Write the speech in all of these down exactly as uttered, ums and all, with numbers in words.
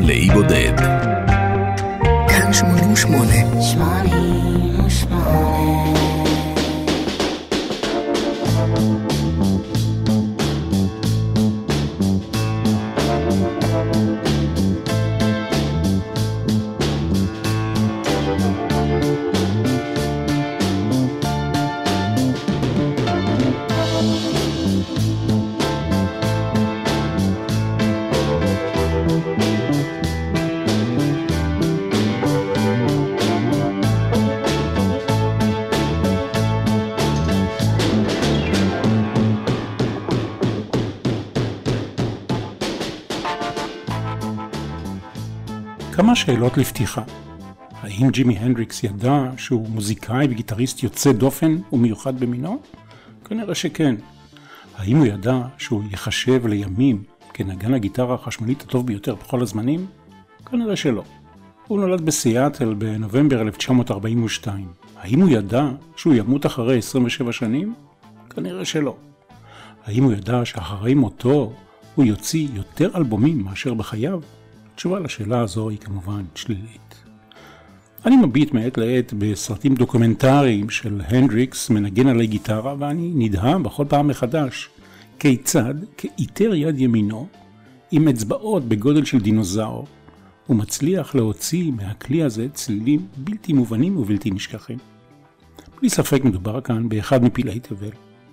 לאי בודד. כאן שמונים ושמונה. שמונים ושמונה. כמה שאלות לפתיחה. האם ג'ימי הנדריקס ידע שהוא מוזיקאי וגיטריסט יוצא דופן ומיוחד במינו? כנראה שכן. האם הוא ידע שהוא יחשב לימים כנגן הגיטרה החשמלית הטוב ביותר בכל הזמנים? כנראה שלא. הוא נולד בסיאטל בנובמבר אלף תשע מאות ארבעים ושתיים. האם הוא ידע שהוא ימות אחרי עשרים ושבע שנים? כנראה שלא. האם הוא ידע שאחרי מותו הוא יוציא יותר אלבומים מאשר בחייו? התשובה לשאלה הזו היא כמובן שלילית. אני מביט מעת לעת בסרטים דוקומנטריים של הנדריקס מנגן עלי גיטרה, ואני נדהם בכל פעם מחדש כיצד כאיתר יד ימינו עם אצבעות בגודל של דינוזאור הוא מצליח להוציא מהכלי הזה צלילים בלתי מובנים ובלתי נשכחים. בלי ספק מדובר כאן באחד מפלאי תבל.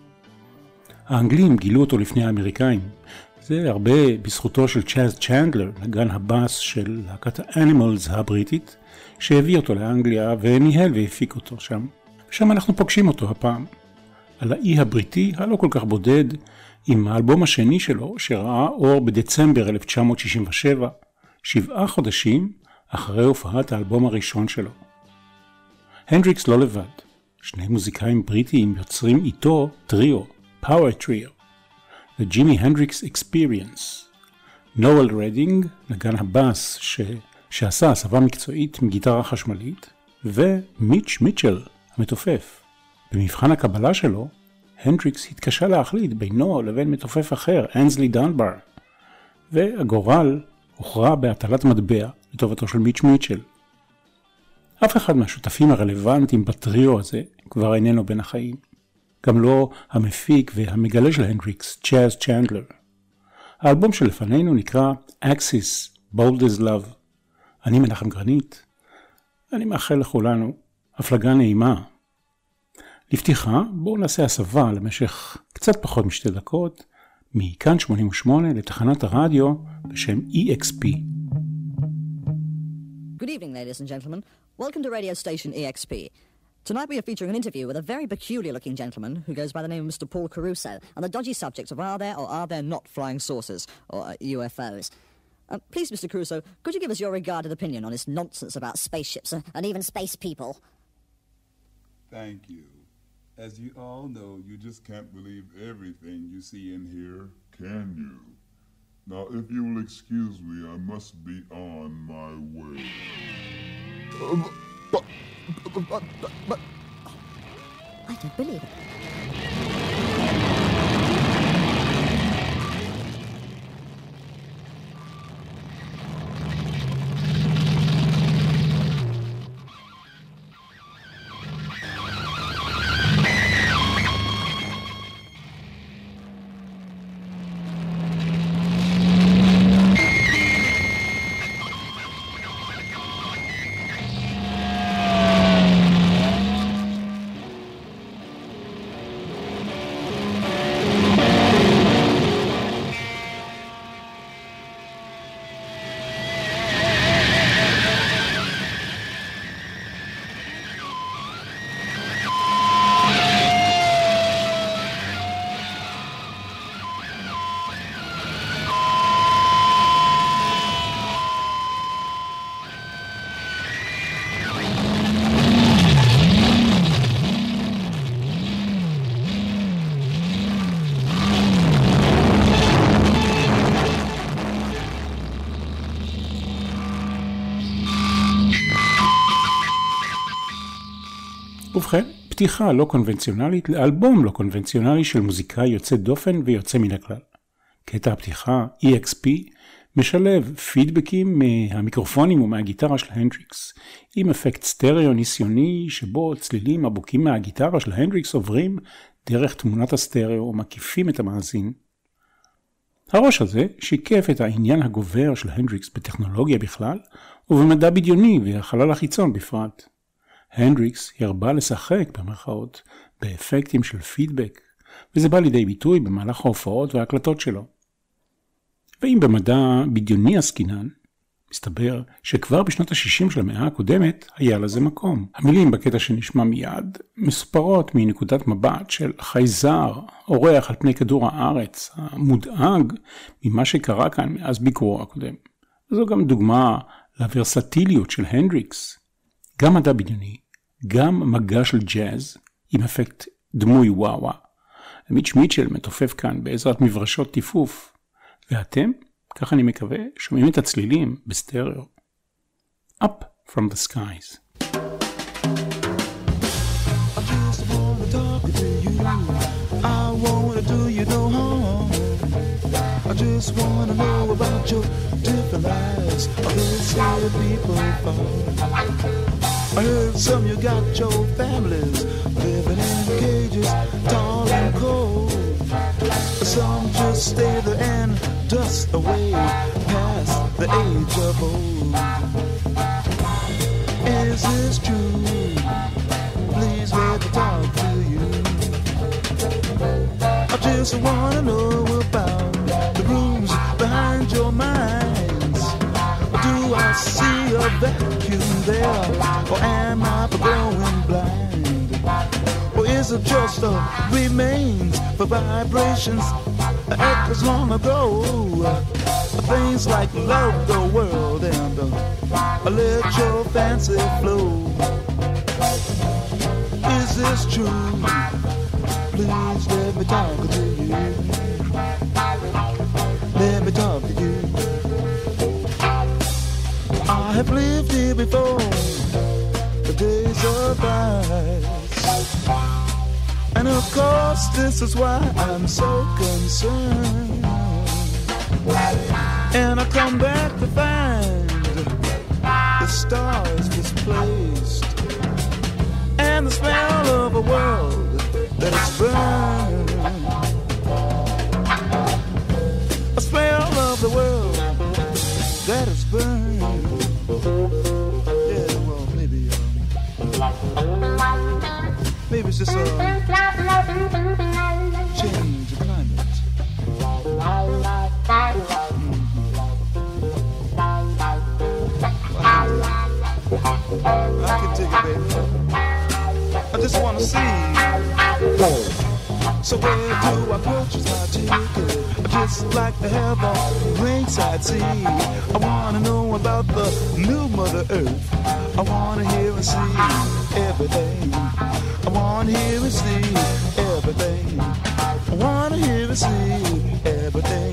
האנגלים גילו אותו לפני האמריקאים. זה הרבה בזכותו של צ'אז צ'נדלר, נגן הבאס של להקת האנימלס הבריטית, שהביא אותו לאנגליה וניהל והפיק אותו שם. שם אנחנו פוגשים אותו הפעם. על האי הבריטי הלא כל כך בודד, עם האלבום השני שלו שראה אור בדצמבר אלף תשע מאות שישים ושבע, שבעה חודשים אחרי הופעת האלבום הראשון שלו. הנדריקס לא לבד. שני מוזיקאים בריטיים יוצרים איתו טריו, פאוור טריו. The Jimi Hendrix Experience. נואל רדינג, נגן הבאס ש... שעשה הסבה מקצועית מגיטרה חשמלית, ומיץ' מיטשל, המתופף. במבחן הקבלה שלו, הנדריקס התקשה להחליט בינו לבין מתופף אחר, אנסלי דנבר, והגורל הוכרע בהטלת מטבע לטובתו של מיץ' מיטשל. אף אחד מהשותפים הרלוונטיים בטריו הזה כבר איננו בין החיים. גם לא המפיק והמגלה של הנדריקס, צ'אז צ'נדלר. האלבום שלפנינו נקרא Axis, Bold as Love. אני מנחם גרנית. אני מאחל לכולנו הפלגה נעימה. לפתיחה, בואו נעשה הסבה למשך קצת פחות משתי דקות, מכאן שמונים ושמונה לתחנת הרדיו בשם E X P. Good evening, ladies and gentlemen. Welcome to radio station E X P. Tonight we are featuring an interview with a very peculiar-looking gentleman who goes by the name of Mister Paul Caruso on the dodgy subject of are there or are there not flying saucers, or uh, U F Os. Uh, please, Mister Caruso, could you give us your regarded opinion on this nonsense about spaceships uh, and even space people? Thank you. As you all know, you just can't believe everything you see in here, can you? Now, if you will excuse me, I must be on my way. Uh, but... But, but, but, I don't believe it. ובכן, פתיחה לא קונבנציונלית לאלבום לא קונבנציונלי של מוזיקאי יוצא דופן ויוצא מן הכלל. קטע הפתיחה E X P משלב פידבקים מהמיקרופונים ומהגיטרה של הנדריקס, עם אפקט סטריאו ניסיוני שבו צלילים עמוקים מהגיטרה של הנדריקס עוברים דרך תמונת הסטריאו ומקיפים את המאזין. הראש הזה שיקף את העניין הגובר של הנדריקס בטכנולוגיה בכלל, ובמדע בדיוני והחלל החיצון בפרט. הנדריקס הרבה לשחק במרכאות באפקטים של פידבק, וזה בא לידי ביטוי במהלך ההופעות וההקלטות שלו. ואם במדע בדיוני עסקינן, מסתבר שכבר בשנות ה-שישים של המאה הקודמת היה לזה מקום. המילים בקטע שנשמע מיד מסופרות מנקודת מבט של חייזר, אורח על פני כדור הארץ, המודאג ממה שקרה כאן מאז ביקורו הקודם. וזו גם דוגמה לוורסטיליות של הנדריקס. גם מדע בדיוני, גם מגע של ג'אז עם אפקט דמוי וואווה. מיץ' מיטשל מתופף כאן בעזרת מברשות טיפוף. ואתם, כך אני מקווה, שומעים את הצלילים בסטריאו. Up from the skies. I just wanna talk to you. I wanna do you no harm. I just wanna know about your different lives. Of this way people fall. I heard some you got your families living in cages, tall and cold. Some just stay there and dust away past the age of old. Is this true? Please let me talk to you. I just wanna know about the rooms behind your minds. Do I see a vacuum there, or am I going blind? Or is it just a remains for vibrations echoes long ago? Things like love the world and uh, let your fancy flow. Is this true? Please let me talk to you. Let me talk to you. I have lived here before, the days of ice. And of course this is why I'm so concerned. And I come back to find the stars displaced, and the smell of a world that is burned. A smell of the world that is burned. Yeah, well, maybe, um, maybe it's just a change of climate. I can dig it, baby. I just want to see. So where do I purchase my ticket? I just like to have a ringside seat. I want to know about the new Mother Earth. I want to hear and see everything. I want to hear and see everything. I want to hear and see everything.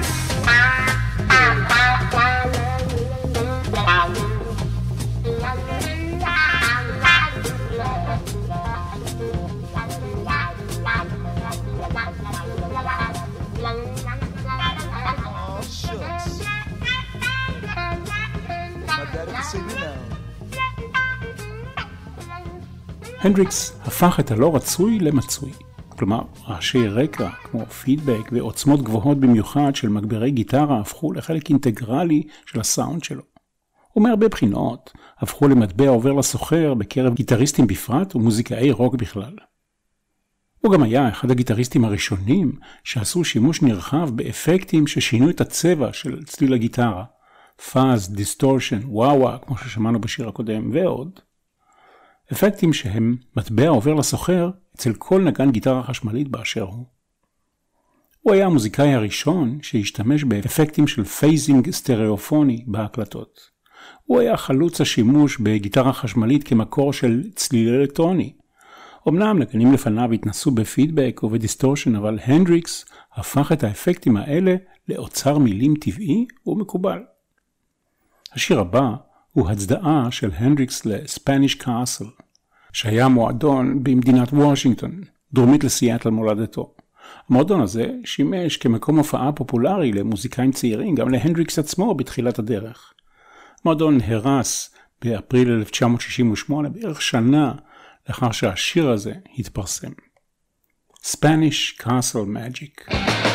הנדריקס הפך את הלא רצוי למצוי. כלומר, רעשי רקע כמו פידבק ועוצמות גבוהות במיוחד של מגברי גיטרה הפכו לחלק אינטגרלי של הסאונד שלו. ומהרבה בחינות הפכו למטבע עובר לסוחר בקרב גיטריסטים בפרט ומוזיקאי רוק בכלל. הוא גם היה אחד הגיטריסטים הראשונים שעשו שימוש נרחב באפקטים ששינו את הצבע של צליל הגיטרה. פאז, דיסטורשן, וואווה, כמו ששמענו בשיר הקודם, ועוד. אפקטים שהם מטבע עובר לסוחר אצל כל נגן גיטרה חשמלית באשר הוא. הוא היה המוזיקאי הראשון שהשתמש באפקטים של פייזינג סטריאופוני בהקלטות. הוא היה חלוץ השימוש בגיטרה חשמלית כמקור של צליל אלקטרוני. אמנם נגנים לפניו התנסו בפידבק ובדיסטורשן, אבל הנדריקס הפך את האפקטים האלה לאוצר מילים טבעי ומקובל. השיר הבא הוא הצדעה של הנדריקס לספניש קאסל, שהיה מועדון במדינת וושינגטון, דרומית לסיאטל מולדתו. המועדון הזה שימש כמקום הופעה פופולרי למוזיקאים צעירים, גם להנדריקס עצמו בתחילת הדרך. המועדון הרס באפריל אלף תשע מאות שישים ושמונה, בערך שנה לאחר שהשיר הזה התפרסם. Spanish Castle Magic.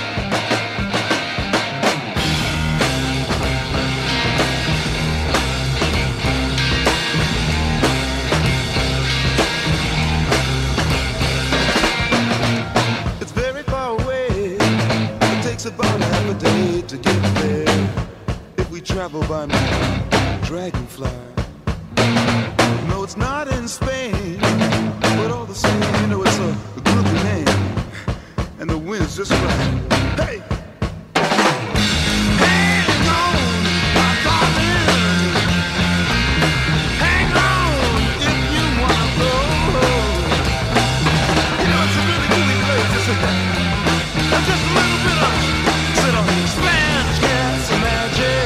About half a day to get there if we travel by my dragonfly. No, it's not in Spain, but all the same, you know, it's a, a groovy name, and the wind's just right. Hey! Hang on, my darling. Hang on if you wanna go. You know, it's a really groovy place, just a, just a little bit of Spanish Castle Magic.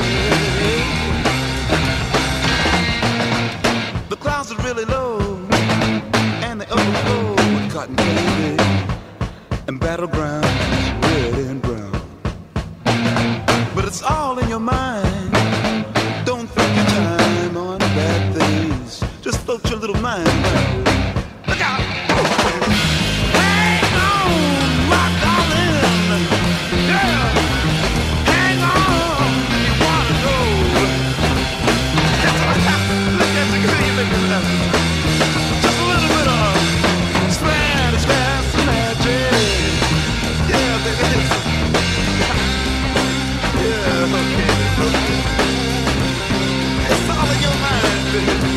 The clouds are really low, and they overflow with cotton candy and battlegrounds, red and brown. But it's all in your mind. Don't think your time on bad things. Just float your little mind around. Look out! Hang on, my darling. Yeah! Just a little bit of Spanish Castle Magic. Yeah, baby. Yeah, okay, okay. It's all in your mind, baby.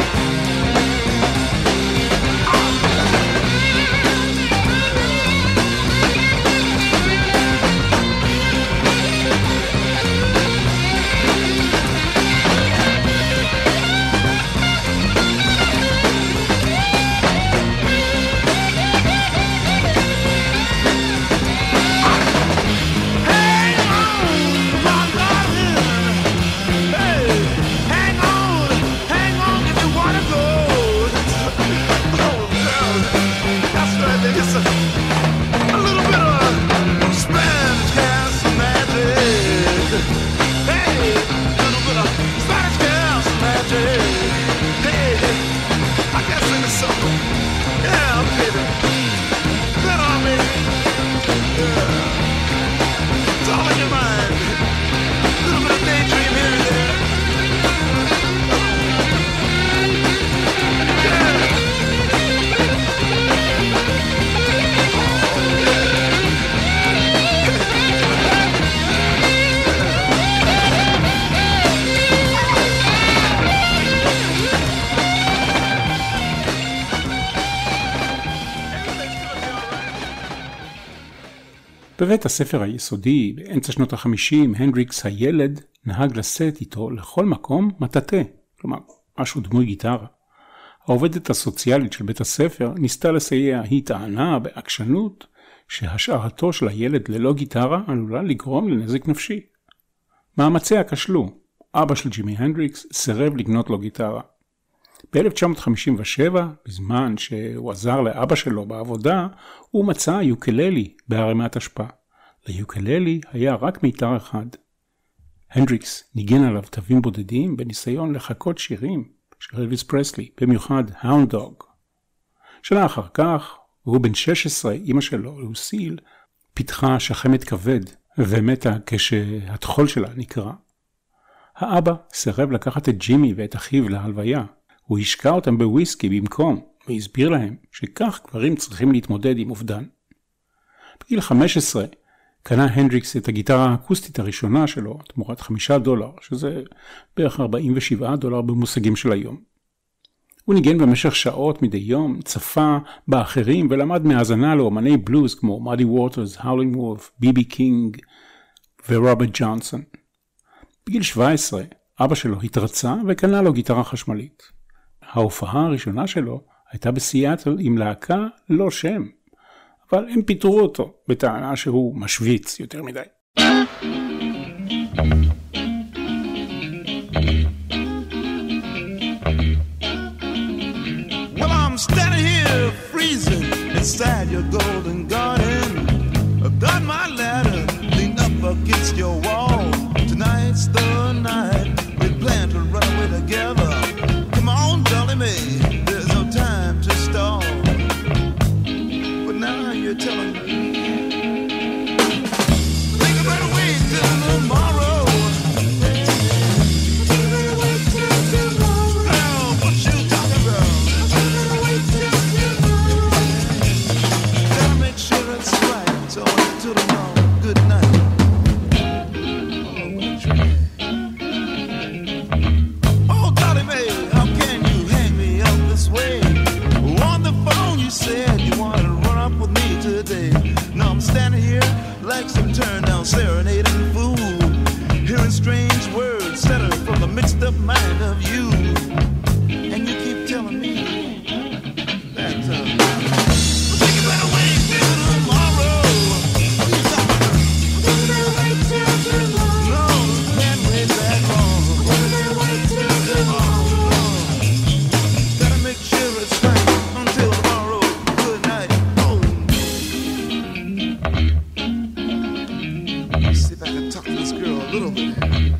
בבית הספר היסודי, באמצע שנות החמישים, הנדריקס הילד נהג לשאת איתו לכל מקום מטאטה, כלומר, משהו דמוי גיטרה. העובדת הסוציאלית של בית הספר ניסתה לסייע, היא טענה בעקשנות שהשארתו של הילד ללא גיטרה עלולה לגרום לנזק נפשי. מאמציה כשלו, אבא של ג'ימי הנדריקס סירב לקנות לו גיטרה. ב-אלף תשע מאות חמישים ושבע, בזמן שהוא עזר לאבא שלו בעבודה, הוא מצא יוקללי בערימת אשפה. ליוקללי היה רק מיתר אחד. הנדריקס ניגן עליו תווים בודדים בניסיון לחכות שירים של אלוויס פרסלי, במיוחד Hound Dog. שנה אחר כך, הוא בן שש עשרה, אמא שלו, לוסיל, פיתחה שחמת כבד ומתה כשהתחול שלה נקרא. האבא סירב לקחת את ג'ימי ואת אחיו להלוויה. הוא השקע אותם בוויסקי במקום, והסביר להם שכך גברים צריכים להתמודד עם אובדן. בגיל חמש עשרה קנה הנדריקס את הגיטרה האקוסטית הראשונה שלו, תמורת חמישה דולר, שזה בערך ארבעים ושבעה דולר במושגים של היום. הוא ניגן במשך שעות מדי יום, צפה באחרים ולמד מהאזנה לאומני בלוז כמו מאדי ווטרס, האולינג וולף, בי בי קינג ורוברט ג'ונסון. בגיל שבע עשרה אבא שלו התרצה וקנה לו גיטרה חשמלית. ההופעה הראשונה שלו הייתה בסיאטל עם להקה לא שם, אבל הם פיטרו אותו בטענה שהוא משוויץ יותר מדי. Well, I'm standing here freezing inside your golden garden. I've done of mind of you, and you keep telling me that uh, think you better wait till tomorrow. You better wait till tomorrow. No, can't wait that long. You better wait till tomorrow. Gotta make sure it's right until tomorrow. Good night. Oh. See if I can talk to this girl a little bit.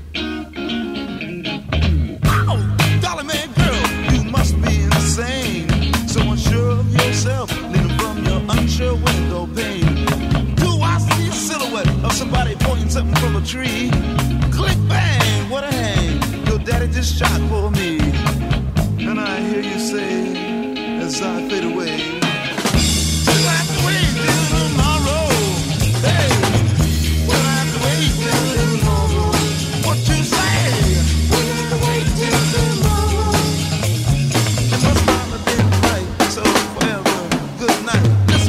Window pane. Do I see a silhouette of somebody pointing something from a tree? Click bang, what a hang. Your daddy just shot for me. And I hear you say as I fade away, till I have to wait till tomorrow. Hey, we'll have to wait till tomorrow. What you say? We'll have to wait till tomorrow. It must not have been right, so forever, good night.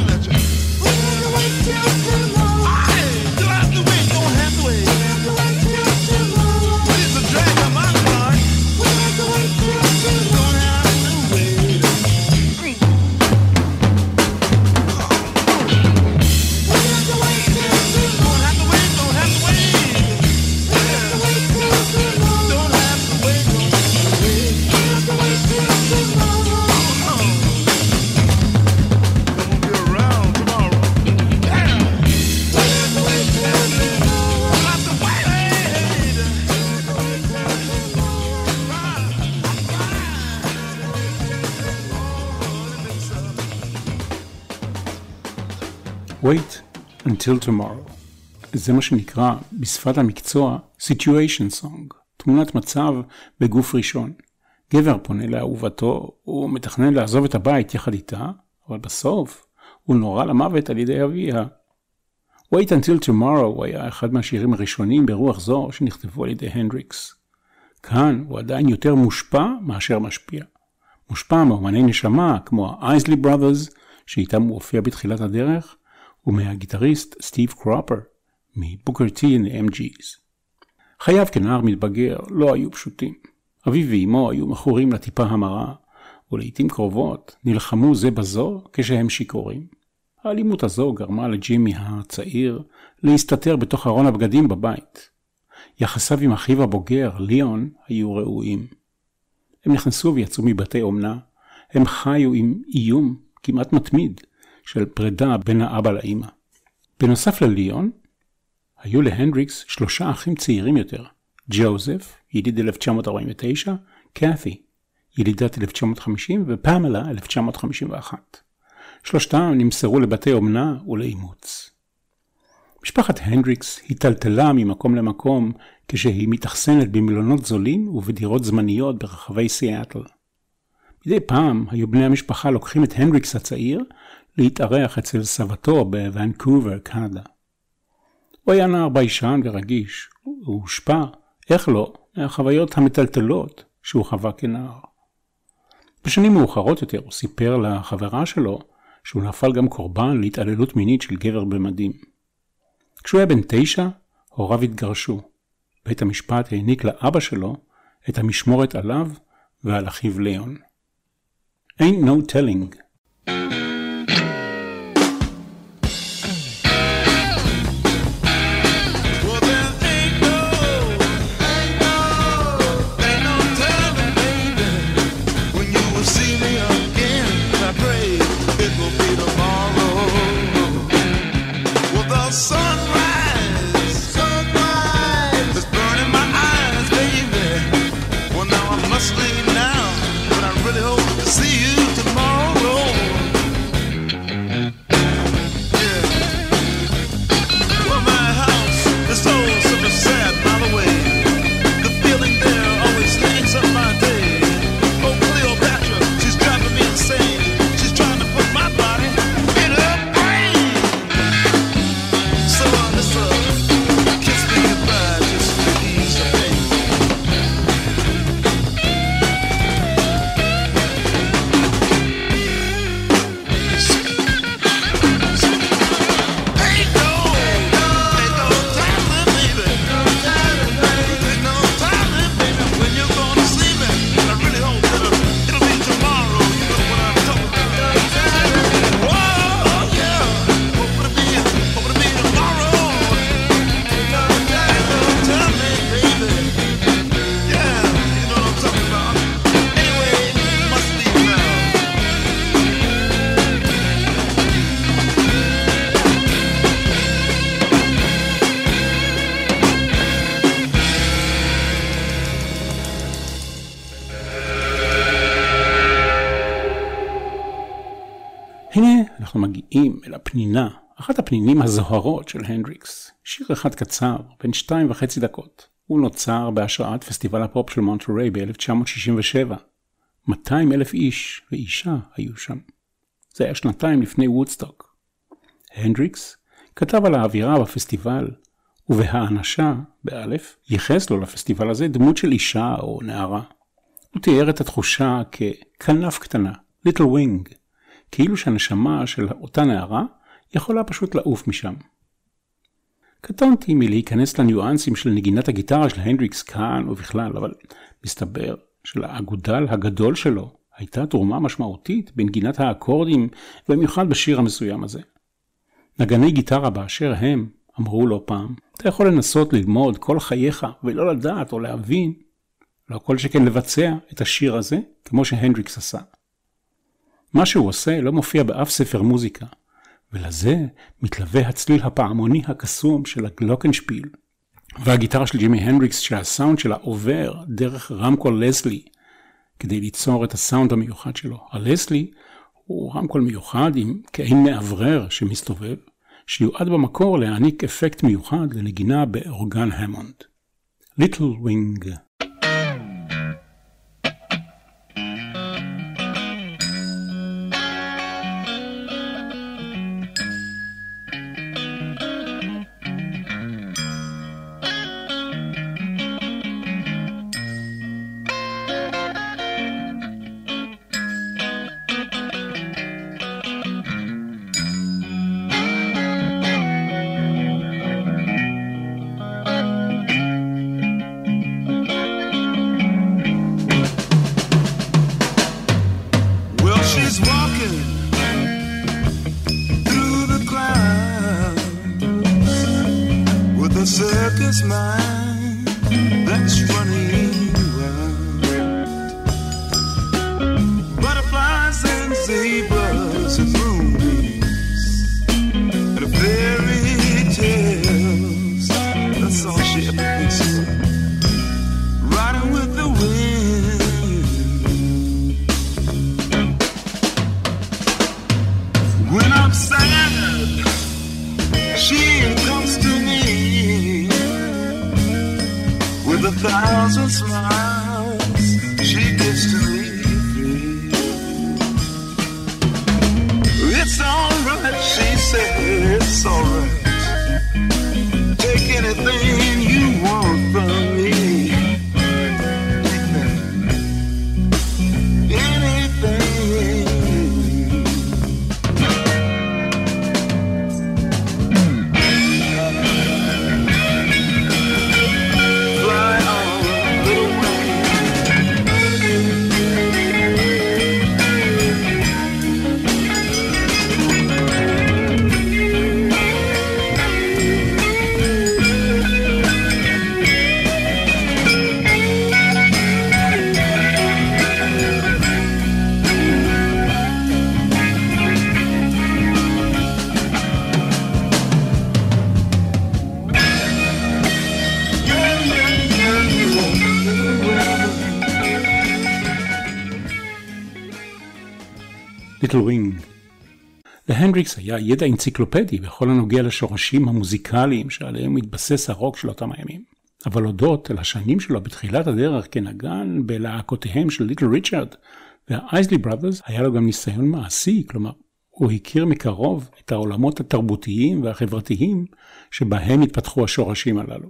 Wait until tomorrow. זה מה שנקרא בשפת המקצוע situation song, תמונת מצב בגוף ראשון. גבר פונה לאהובתו, הוא מתכנן לעזוב את הבית יחד איתה, אבל בסוף הוא נורא למוות על ידי אביה. Wait until tomorrow היה אחד מהשירים הראשונים ברוח זו שנכתבו על ידי הנדריקס. כאן הוא עדיין יותר מושפע מאשר משפיע. מושפע מאומני נשמה כמו ה-Isley Brothers, שאיתם הוא הופיע בתחילת הדרך, ומהגיטריסט סטיב קרופר, מבוקר טי ו-אם ג'יז. חייו כנער מתבגר לא היו פשוטים. אביו ואמו היו מכורים לטיפה המרה, ולעיתים קרובות נלחמו זה בזו כשהם שיכורים. האלימות הזו גרמה לג'ימי הצעיר להסתתר בתוך ארון הבגדים בבית. יחסיו עם אחיו הבוגר, ליאון, היו ראויים. הם נכנסו ויצאו מבתי אומנה, הם חיו עם איום כמעט מתמיד, של פרידה בין האבא לאמא. בנוסף לליאון, היו להנדריקס שלושה אחים צעירים יותר. ג'וזף, יליד אלף תשע מאות ארבעים ותשע, קאתי, ילידת אלף תשע מאות חמישים, ופמלה, אלף תשע מאות חמישים ואחת. שלושתם נמסרו לבתי אומנה ולאימוץ. משפחת הנדריקס היטלטלה ממקום למקום כשהיא מתאכסנת במלונות זולים ובדירות זמניות ברחבי סיאטל. מדי פעם היו בני המשפחה לוקחים את הנדריקס הצעיר להתארח אצל סבתו בוונקובר, קנדה. הוא היה נער ביישן ורגיש, הוא הושפע, איך לא, מהחוויות המטלטלות שהוא חווה כנער. בשנים מאוחרות יותר הוא סיפר לחברה שלו שהוא נפל גם קורבן להתעללות מינית של גבר במדים. כשהוא היה בן תשע, הוריו התגרשו. בית המשפט העניק לאבא שלו את המשמורת עליו ועל אחיו ליאון. Ain't no telling. Leave now, but I really hope to see you tomorrow. הנה אנחנו מגיעים אל הפנינה, אחת הפנינים הזוהרות של הנדריקס. שיר אחד קצר, בין שתיים וחצי דקות. הוא נוצר בהשראת פסטיבל הפופ של מונטריי ב-אלף תשע מאות שישים ושבע. מאתיים אלף איש ואישה היו שם. זה היה שנתיים לפני וודסטוק. הנדריקס כתב על האווירה בפסטיבל, ובהאנשה, באלף, ייחס לו לפסטיבל הזה דמות של אישה או נערה. הוא תיאר את התחושה ככנף קטנה, little wing, כאילו שהנשמה של אותה נערה יכולה פשוט לעוף משם. קטונתי מלהיכנס לניואנסים של נגינת הגיטרה של הנדריקס כאן ובכלל, אבל מסתבר שלאגודל הגדול שלו הייתה תרומה משמעותית בנגינת האקורדים, במיוחד בשיר המסוים הזה. נגני גיטרה באשר הם אמרו לו פעם, אתה יכול לנסות ללמוד כל חייך ולא לדעת או להבין, לא כל שכן לבצע את השיר הזה כמו שהנדריקס עשה. מה שהוא עושה לא מופיע באף ספר מוזיקה, ולזה מתלווה הצליל הפעמוני הקסום של הגלוקנשפיל, והגיטרה של ג'ימי הנדריקס שהסאונד שלה עובר דרך רמקול לסלי, כדי ליצור את הסאונד המיוחד שלו. הלסלי הוא רמקול מיוחד עם כעין מעברר שמסתובב, שיועד במקור להעניק אפקט מיוחד לנגינה באורגן המונד. Little Wing. Little Wing. להנדריקס היה ידע אנציקלופדי בכל הנוגע לשורשים המוזיקליים שעליהם מתבסס הרוק של אותם הימים. אבל הודות אל השנים שלו בתחילת הדרך כנגן בלהקותיהם של ליטל ריצ'רד והאייזלי בראדרס, היה לו גם ניסיון מעשי, כלומר הוא הכיר מקרוב את העולמות התרבותיים והחברתיים שבהם התפתחו השורשים הללו.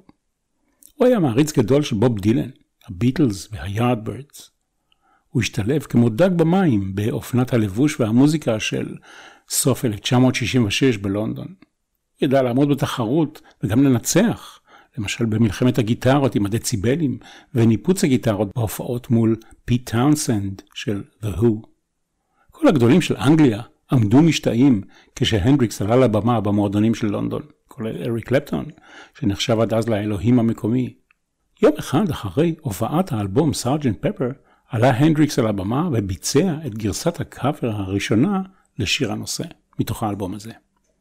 הוא היה מעריץ גדול של בוב דילן, הביטלס והיארדברדס. הוא השתלב כמו דג במים באופנת הלבוש והמוזיקה של סוף אלף תשע מאות שישים ושש בלונדון. הוא ידע לעמוד בתחרות וגם לנצח, למשל במלחמת הגיטרות עם הדציבלים וניפוץ הגיטרות בהופעות מול פיט טאונסנד של The Who. כל הגדולים של אנגליה עמדו משתאים כשהנדריקס עלה לבמה במועדונים של לונדון, כולל אריק קלפטון, שנחשב עד אז לאלוהים המקומי. יום אחד אחרי הופעת האלבום סארג'נט פפר, עלה הנדריקס על הבמה וביצע את גרסת הקאבר הראשונה לשיר הנושא, מתוך האלבום הזה.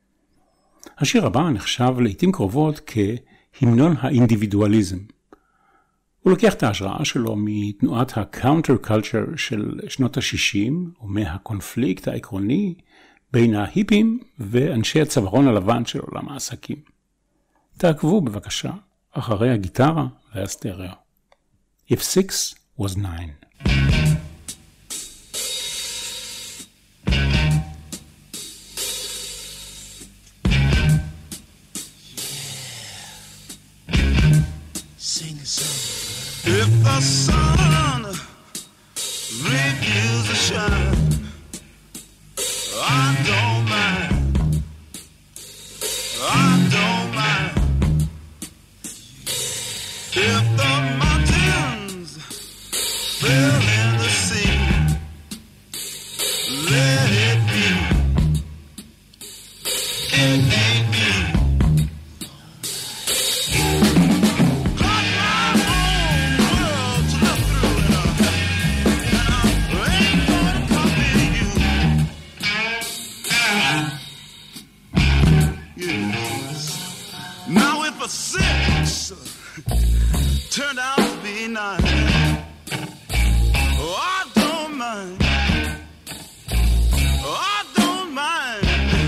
השיר הבא נחשב לעתים קרובות כהמנון האינדיבידואליזם. הוא לוקח את ההשראה שלו מתנועת הקאונטר קולצ'ר של שנות ה-שישים, ומהקונפליקט העקרוני בין ההיפים ואנשי הצווארון הלבן של עולם העסקים. תעקבו בבקשה אחרי הגיטרה והסטריאו. If six was nine. Sing a song. If the sun refuses to shine, I don't mind. I don't mind. If the mountains fill in the sea, let it be. It ain't me. Six turned out to be nine. Oh, I don't mind. Oh, I don't mind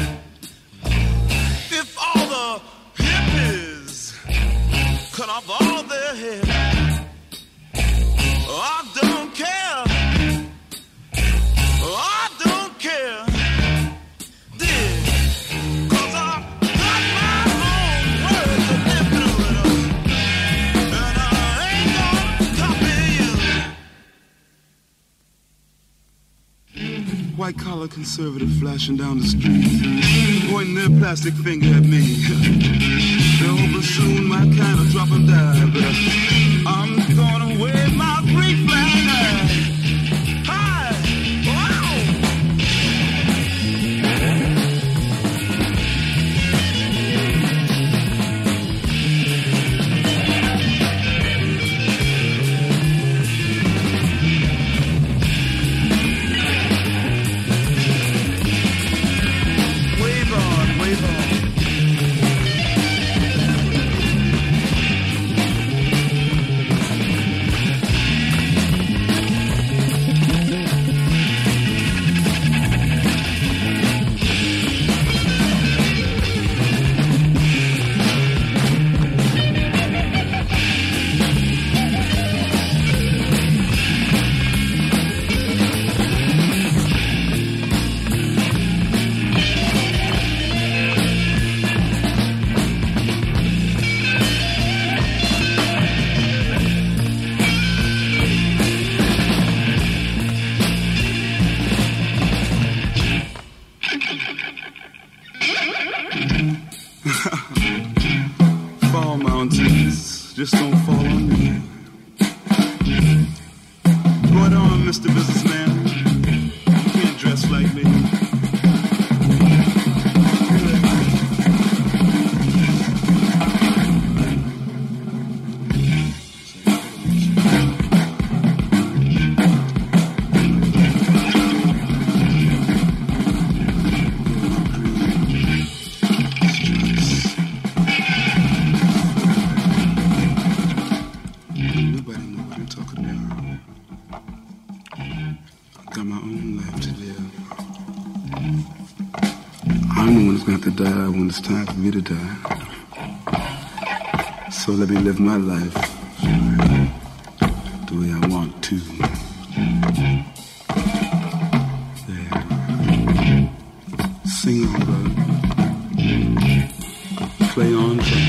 if all the hippies cut off all their hair. Oh, I don't care. Oh, I don't care. Did 'cause I white-collar conservative flashing down the street, pointing their plastic finger at me. They're hoping soon my kind of drop and die, but I'm gonna wave my Greek flag high. Hi! Wow! Fall mountains, just don't fall on me. Going on, Mister Businessman. You can't dress like me. Die when it's time for me to die. So let me live my life the way I want to. There. Sing on, brother. Play on, brother.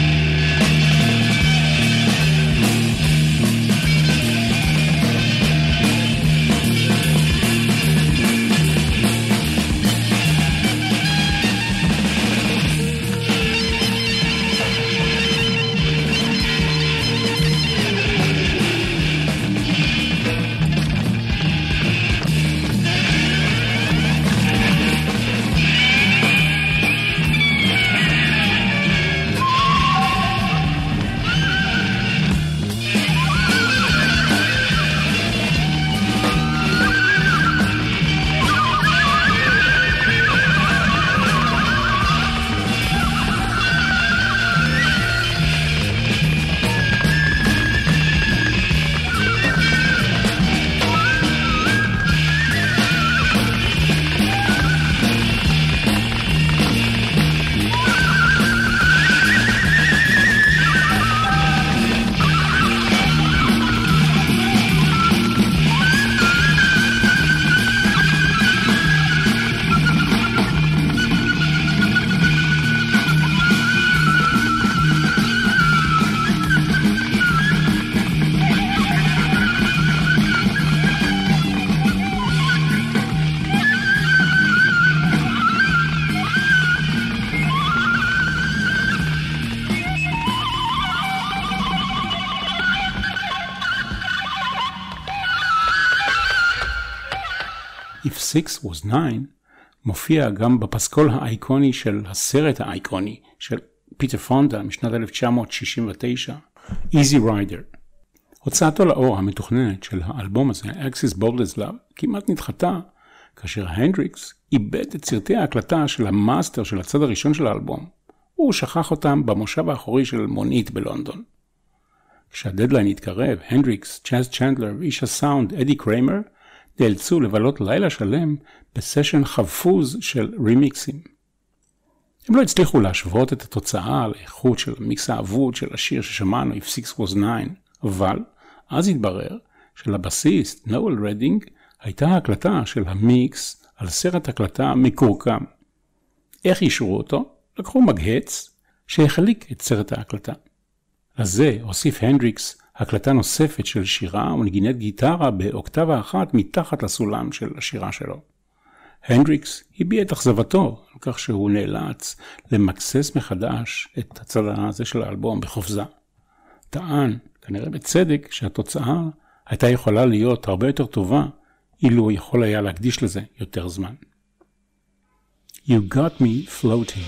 If Six Was Nine מופיע גם בפסקול האייקוני של הסרט האייקוני של פיטר פונדה משנת אלף תשע מאות שישים ותשע, Easy Rider. הוצאתו לאור המתוכננת של האלבום הזה, Axis Boldest Love, כמעט נדחתה כאשר הנדריקס איבד את סרטי ההקלטה של המאסטר של הצד הראשון של האלבום. הוא שכח אותם במושב האחורי של מונית בלונדון. כשהדדליין התקרב, הנדריקס, צ'אז צ'נדלר ואיש הסאונד אדי קריימר נאלצו לבלות לילה שלם בסשן חפוז של רימיקסים. הם לא הצליחו להשוות את התוצאה לאיכות של המיקס האבוד של השיר ששמענו, If Six Was Nine, אבל אז התברר שלבסיסט נואל רדינג הייתה ההקלטה של המיקס על סרט הקלטה מקורקם. איך אישרו אותו? לקחו מגהץ שהחליק את סרט ההקלטה. לזה הוסיף הנדריקס הקלטה נוספת של שירה ונגינת גיטרה באוקטבה אחת מתחת לסולם של השירה שלו. הנדריקס הביע את אכזבתו על כך שהוא נאלץ למקסס מחדש את הצד הזה של האלבום בחופזה. טען, כנראה בצדק, שהתוצאה הייתה יכולה להיות הרבה יותר טובה אילו יכול היה להקדיש לזה יותר זמן. You got me floating.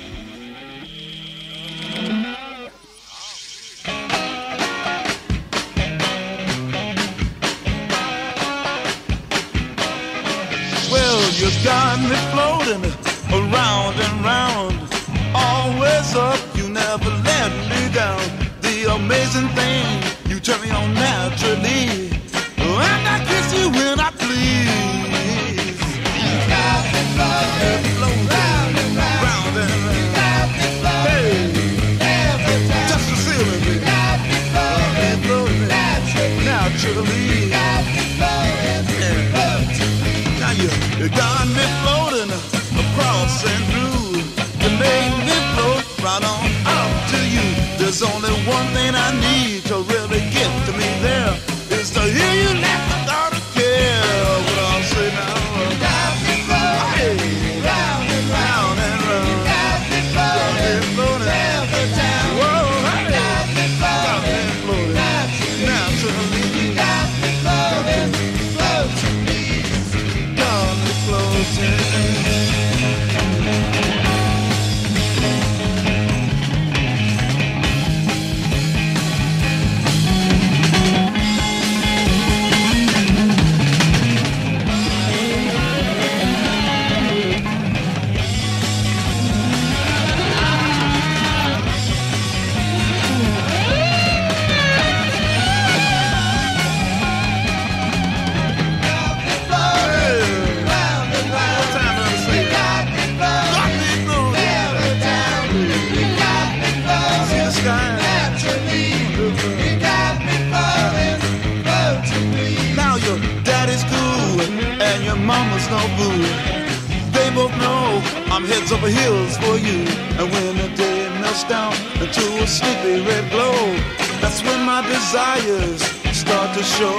Well, you got me floating around and round, always up, you never let me down. The amazing thing, you turn me on naturally, and I kiss you when I please. You got me floating, floating round and round, round and round. You got me floating, hey, every time. Touch the ceiling, baby. You got me floating, floating naturally, naturally. You got me floating, yeah. Floating. Now you, you got me floating across and through. You made me float right on up to you. There's only one thing I need to really get to me there, is to hear you laugh without a care. What I'll say now. You got me floating, hey, round and round and round. You got me floating, floating every time. Whoa, hey, you got me floating, floating naturally. naturally. You got me floating, floating me. Got me floating. Mama's no boo. They both know I'm heads over heels for you. And when the day melts down into a sleepy red glow, that's when my desires start to show.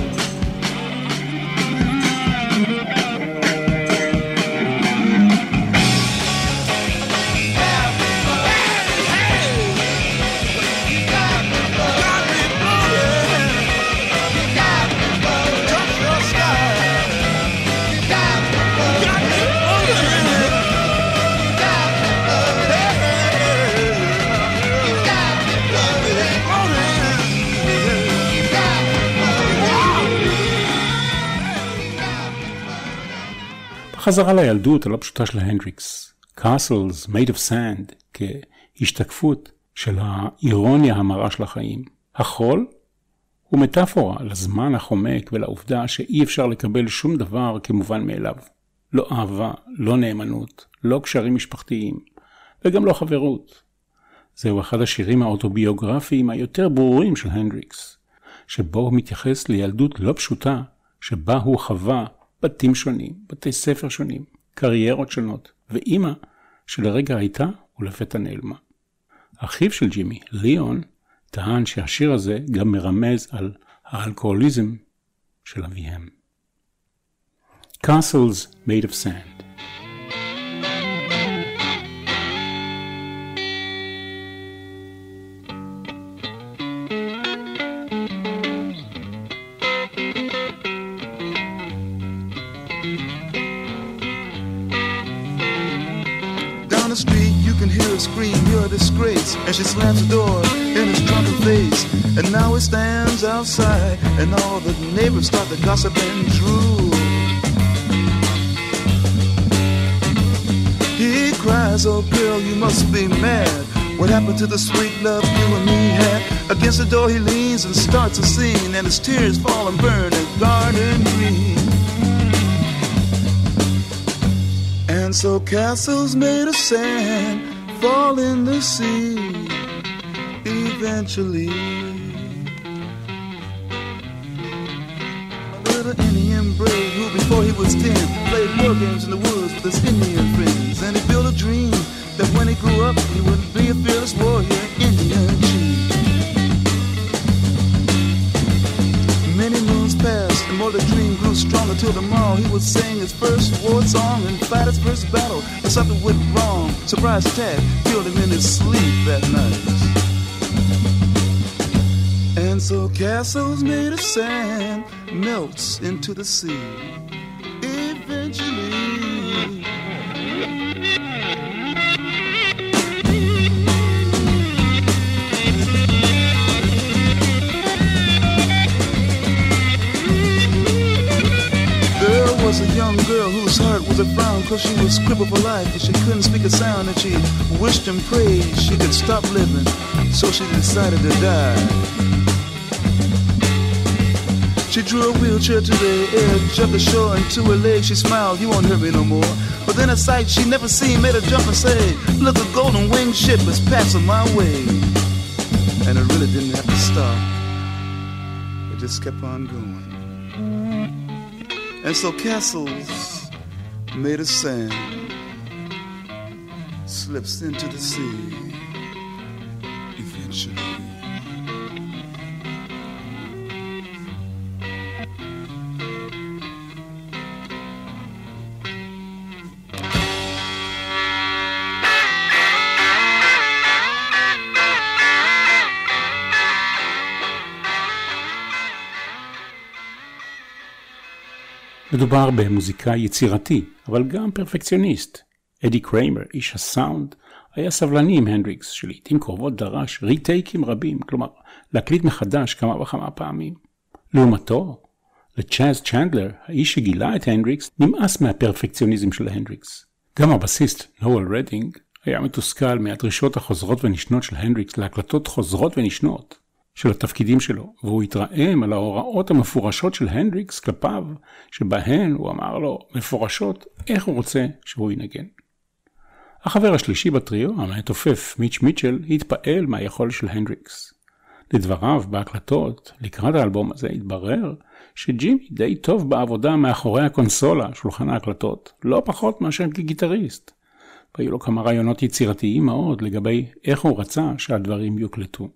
חזרה לילדות הלא פשוטה של הנדריקס, Castles Made of Sand, כהשתקפות של האירוניה המרה של החיים. החול הוא מטאפורה לזמן החומק ולעובדה שאי אפשר לקבל שום דבר כמובן מאליו. לא אהבה, לא נאמנות, לא קשרים משפחתיים, וגם לא חברות. זהו אחד השירים האוטוביוגרפיים היותר ברורים של הנדריקס, שבו הוא מתייחס לילדות לא פשוטה, שבה הוא חווה בתים שונים, בתי ספר שונים, קריירות שונות, ואימא שלרגע הייתה ולפתע נעלמה. אחיו של ג'ימי, ליאון, טען שהשיר הזה גם מרמז על האלכוהוליזם של אביהם. Castles Made of Sand. scream, you're a disgrace. And she slams the door in his drunken face. And now he stands outside, and all the neighbors start to gossip and drool. He cries, oh girl, you must be mad. What happened to the sweet love you and me had? Against the door he leans and starts a scene, and his tears fall and burn in garden green. And so castles made of sand fall in the sea eventually. A little Indian brave who before he was ten played war games in the woods with his Indian friends. And he built a dream that when he grew up he would be a fearless warrior, Indian chief. Many moons passed and more the dream grew stronger till tomorrow he would sing his first war song and fight his first battle. But something went wrong. Surprise attack killed him in his sleep that night. And so castles made of sand melts into the sea eventually. Was a young girl whose heart was a frown, cause she was crippled for life and she couldn't speak a sound, and she wished and prayed she could stop living, so she decided to die. She drew a wheelchair to the edge of the shore, and to her legs she smiled, you won't hurt me no more. But then a sight she never seen made her jump and say, look, a golden winged ship is passing my way. And it really didn't have to stop, it just kept on going. And so castles made of sand slips into the sea eventually. מדובר במוזיקאי יצירתי, אבל גם פרפקציוניסט. אדי קריימר, איש הסאונד, היה סבלני עם הנדריקס, שלעיתים קרובות דרש ריטייקים רבים, כלומר, להקליט מחדש כמה וכמה פעמים. לעומתו, לצ'אז צ'נדלר, האיש שגילה את הנדריקס, נמאס מהפרפקציוניזם של הנדריקס. גם הבסיסט, נואל רדינג, היה מתוסכל מהדרישות החוזרות ונשנות של הנדריקס להקלטות חוזרות ונשנות של התפקידים שלו, והוא התרעם על ההוראות המפורשות של הנדריקס כלפיו, שבהן הוא אמר לו מפורשות איך הוא רוצה שהוא ינגן. החבר השלישי בטריו, המתופף מיץ' מיטשל, התפעל מהיכולת של הנדריקס. לדבריו בהקלטות, לקראת האלבום הזה התברר שג'ימי די טוב בעבודה מאחורי הקונסולה, שולחן ההקלטות, לא פחות מאשר כגיטריסט. והיו לו כמה רעיונות יצירתיים מאוד לגבי איך הוא רצה שהדברים יוקלטו.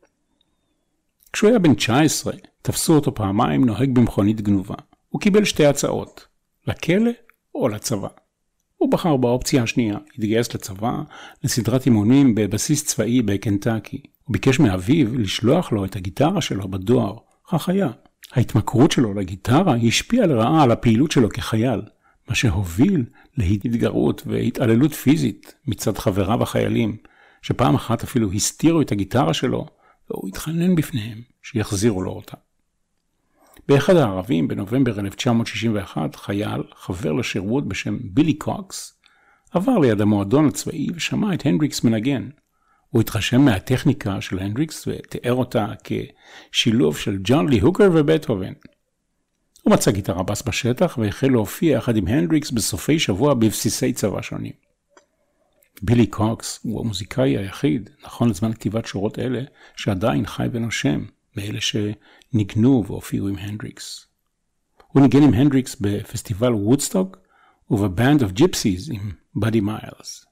כשהוא היה בן תשע עשרה, תפסו אותו פעמיים נוהג במכונית גנובה. הוא קיבל שתי הצעות, לכלא או לצבא. הוא בחר באופציה השנייה, התגייס לצבא, לסדרת אימונים בבסיס צבאי בקנטקי. הוא ביקש מאביו לשלוח לו את הגיטרה שלו בדואר, כך היה. ההתמכרות שלו לגיטרה השפיעה לרעה על הפעילות שלו כחייל, מה שהוביל להתגרות והתעללות פיזית מצד חבריו החיילים, שפעם אחת אפילו הסתירו את הגיטרה שלו, והוא התחנן בפניהם שיחזירו לו אותה. באחד הערבים, בנובמבר אלף תשע מאות שישים ואחת, חייל, חבר לשירות בשם בילי קוקס, עבר ליד המועדון הצבאי ושמע את הנדריקס מנגן. הוא התרשם מהטכניקה של הנדריקס ותיאר אותה כשילוב של ג'ון לי הוקר ובטהובן. הוא מצא גיטרה בס בשטח והחל להופיע יחד עם הנדריקס בסופי שבוע בבסיסי צבא שונים. בילי קוקס הוא המוזיקאי היחיד, נכון לזמן כתיבת שורות אלה, שעדיין חי ונושם, מאלה שניגנו והופיעו עם הנדריקס. הוא ניגן עם הנדריקס בפסטיבל וודסטוק ובבנד אוף ג'יפסיז עם באדי מיילס.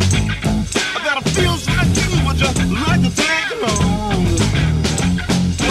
Feels like you would just like to take it home.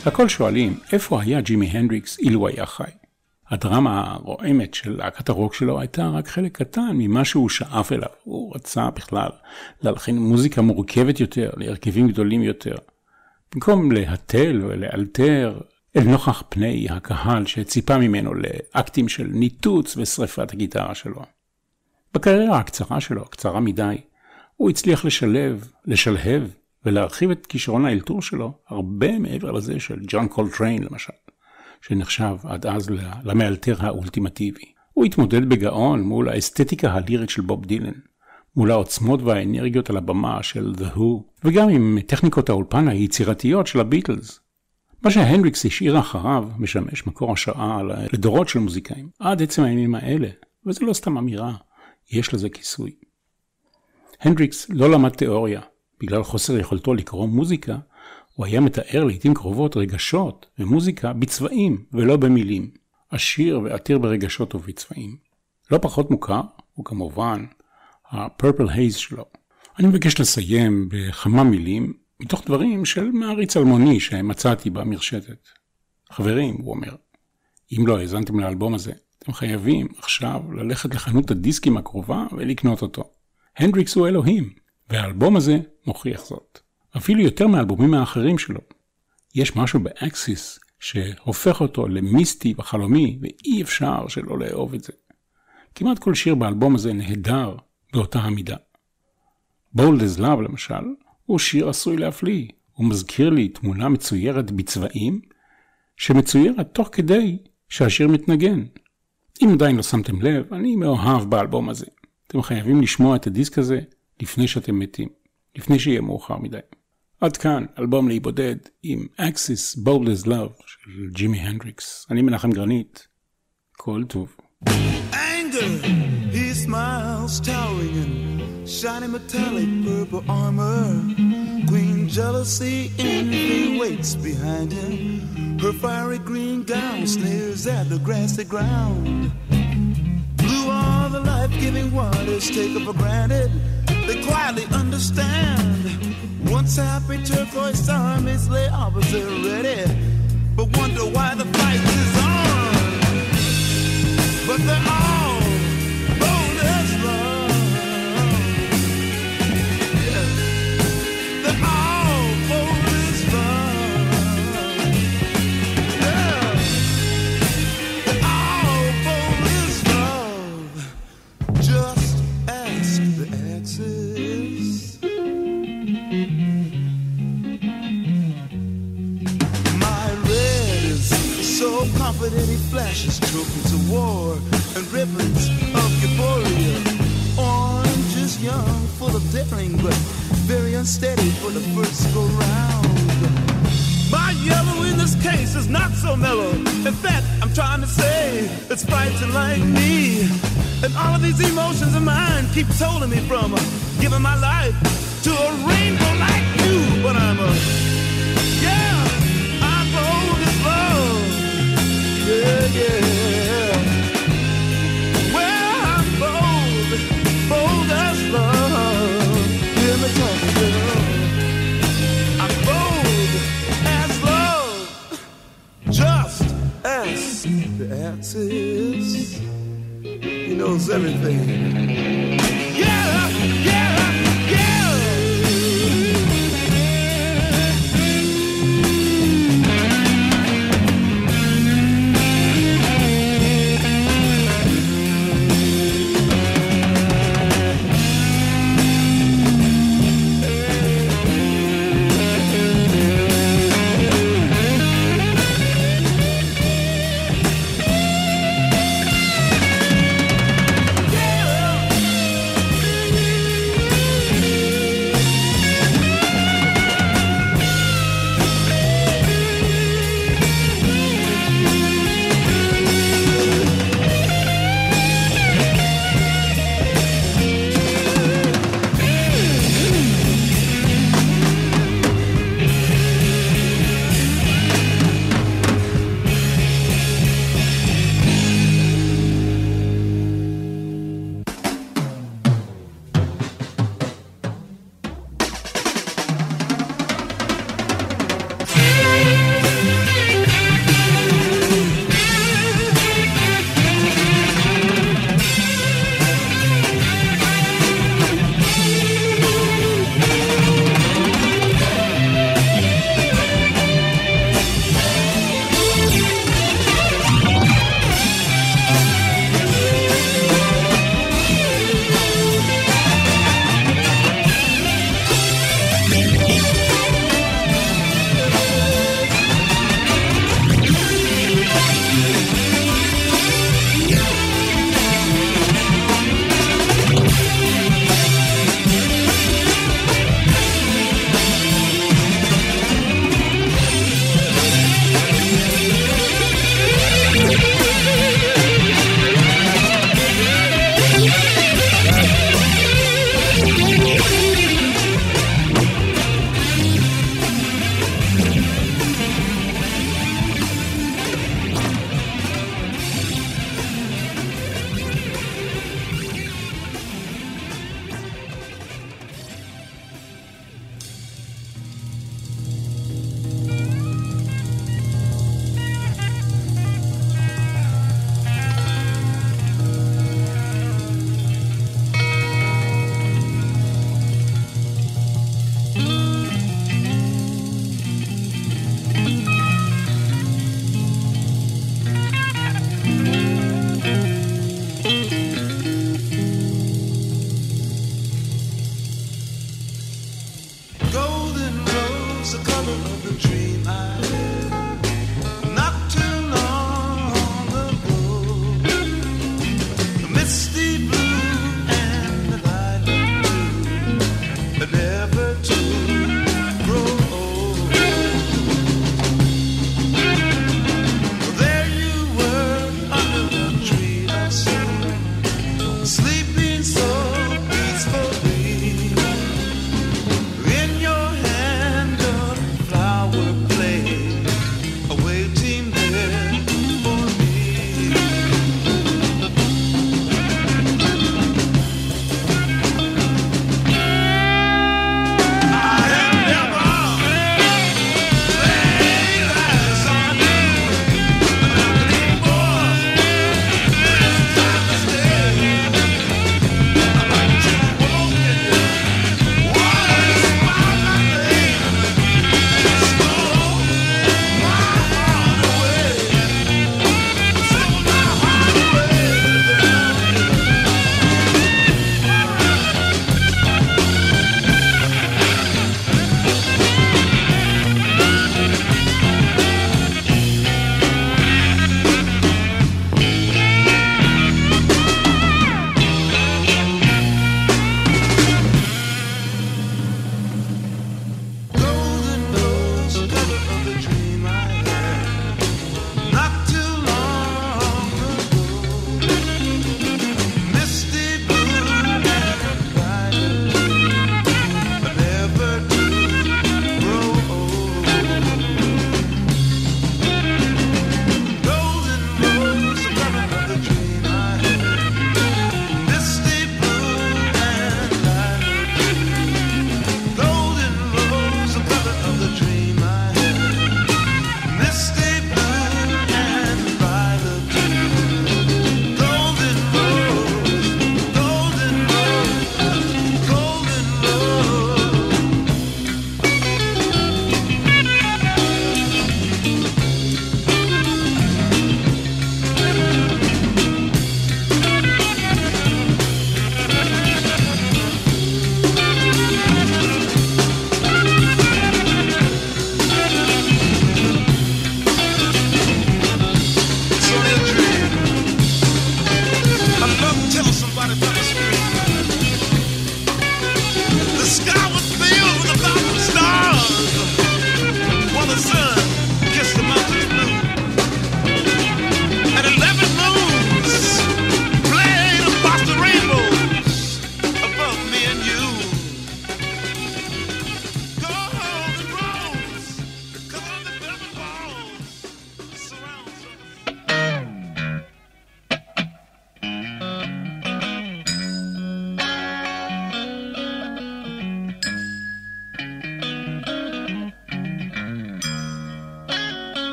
הכל שואלים, איפה היה ג'ימי הנדריקס אילו היה חי? הדרמה הרועמת של להקת הרוק שלו הייתה רק חלק קטן ממה שהוא שאף אליו. הוא רצה בכלל להלחין מוזיקה מורכבת יותר, להרכבים גדולים יותר. במקום להתל ולאלתר אל נוכח פני הקהל שציפה ממנו לאקטים של ניתוץ ושריפת הגיטרה שלו. בקריירה הקצרה שלו, קצרה מדי, הוא הצליח לשלב, לשלהב ולהרחיב את כישרון האלתור שלו הרבה מעבר לזה של ג'ון קולטריין למשל, שנחשב עד אז למאלתר האולטימטיבי. הוא התמודד בגאון מול האסתטיקה הלירית של בוב דילן, מול העוצמות והאנרגיות על הבמה של The Who, וגם עם טכניקות האולפן היצירתיות של הביטלס. מה שהנדריקס השאיר אחריו משמש מקור השראה לדורות של מוזיקאים, עד עצם הימים האלה, וזה לא סתם אמירה, יש לזה כיסוי. הנדריקס לא למד תיאוריה, בגלל חוסר יכולתו לקרוא מוזיקה, הוא היה מתאר לעתים קרובות רגשות ומוזיקה בצבעים ולא במילים, עשיר ועתיר ברגשות ובצבעים. לא פחות מוכר, הוא כמובן ה-Purple Haze שלו. אני מבקש לסיים בכמה מילים, מתוך דברים של מעריץ אלמוני שמצאתי במרשתת. חברים, הוא אומר, אם לא האזנתם לאלבום הזה, אתם חייבים עכשיו ללכת לחנות הדיסקים הקרובה ולקנות אותו. הנדריקס הוא אלוהים, והאלבום הזה מוכיח זאת. אפילו יותר מהאלבומים האחרים שלו. יש משהו באקסיס שהופך אותו למיסטי וחלומי, ואי אפשר שלא לאהוב את זה. כמעט כל שיר באלבום הזה נהדר באותה המידה. Bold as Love למשל, הוא שיר עשוי להפליא. הוא מזכיר לי תמונה מצוירת בצבעים, שמצוירת תוך כדי שהשיר מתנגן. אם עדיין לא שמתם לב, אני מאוהב באלבום הזה. אתם חייבים לשמוע את הדיסק הזה לפני שאתם מתים, לפני שיהיה מאוחר מדי. עד כאן, אלבום להיבודד עם Axis Bold as Love של ג'ימי הנדריקס. אני מנחם גרנית. כל טוב. Anger, he smiles towering in shiny metallic purple armor. Queen jealousy envy waits behind him. Her fiery green gown sneers at the grassy ground. Blue are the life-giving waters taken for granted. They quietly understand. Once happy turquoise armies lay opposite ready, but wonder why the fight is on. But they're all bold as love. Yeah. They're all bold as love. Yeah. They're all bold as love. Just ask the Axis. My red is so confident he flashes trophies of war and ribbons of euphoria. Orange is young, full of daring, but very unsteady for the first go round. My yellow in this case is not so mellow. In fact, I'm trying to say it's fighting like me. And all of these emotions of mine keeps holding me from uh, giving my life to a rainbow like you. But I'm a, yeah, I'm bold as love. Yeah, yeah. Well, I'm bold, bold as love. Hear me talk, girl. I'm bold as love. Just ask the Axis. He knows everything.